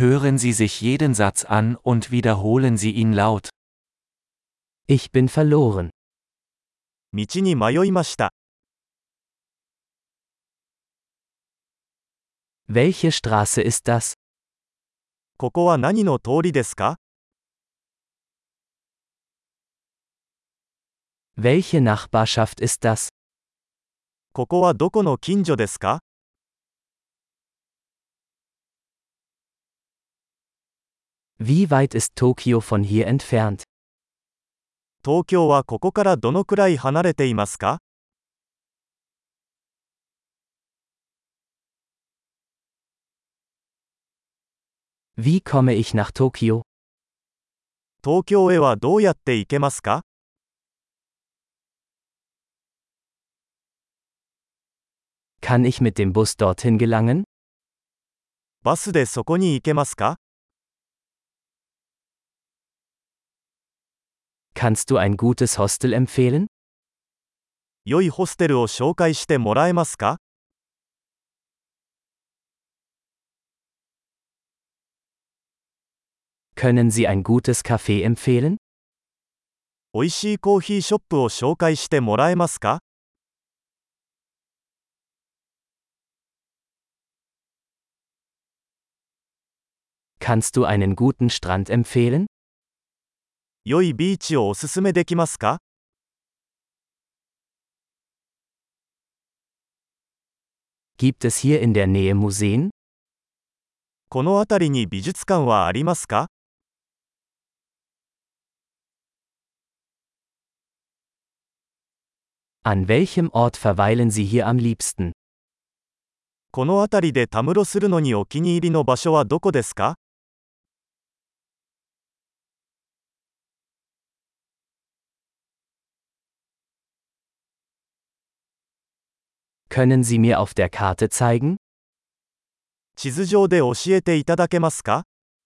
Hören Sie sich jeden Satz an und wiederholen Sie ihn laut. Ich bin verloren. 道に迷いました。 Welche Straße ist das? ここは何の通りですか？ Welche Nachbarschaft ist das? ここはどこの近所ですか？ Wie weit ist Tokio von hier entfernt? 東京はここからどのくらい離れていますか？ Wie komme ich nach Tokio? 東京へはどうやって行けますか？ Kann ich mit dem Bus dorthin gelangen? バスでそこに行けますか？ Kannst du ein gutes Hostel empfehlen? 良いホステルを紹介してもらえますか？ Können Sie ein gutes Café empfehlen? おいしいコーヒーショップを紹介してもらえますか？ Kannst du einen guten Strand empfehlen? 良いビーチをおすすめできますか？ Gibt es hier in der Nähe Museen? この辺りに美術館はありますか？ An welchem Ort verweilen Sie hier am liebsten? この辺りでたむろするのにお気に入りの場所はどこですか？ Können Sie mir auf der Karte zeigen? 地図上で教えていただけますか？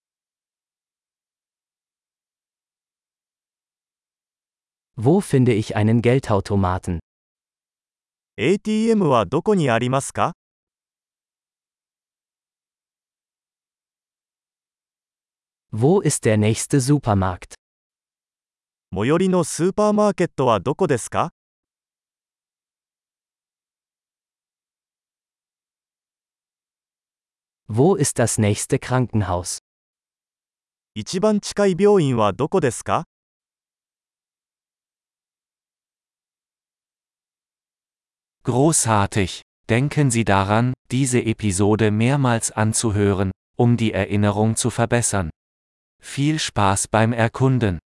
Wo finde ich einen Geldautomaten? ATM はどこにありますか？ Wo ist der nächste Supermarkt? 最寄りのスーパーマーケットはどこですか？ Wo ist das nächste Krankenhaus? 一番近い病院はどこですか？ Großartig! Denken Sie daran, diese Episode mehrmals anzuhören, um die Erinnerung zu verbessern. Viel Spaß beim Erkunden!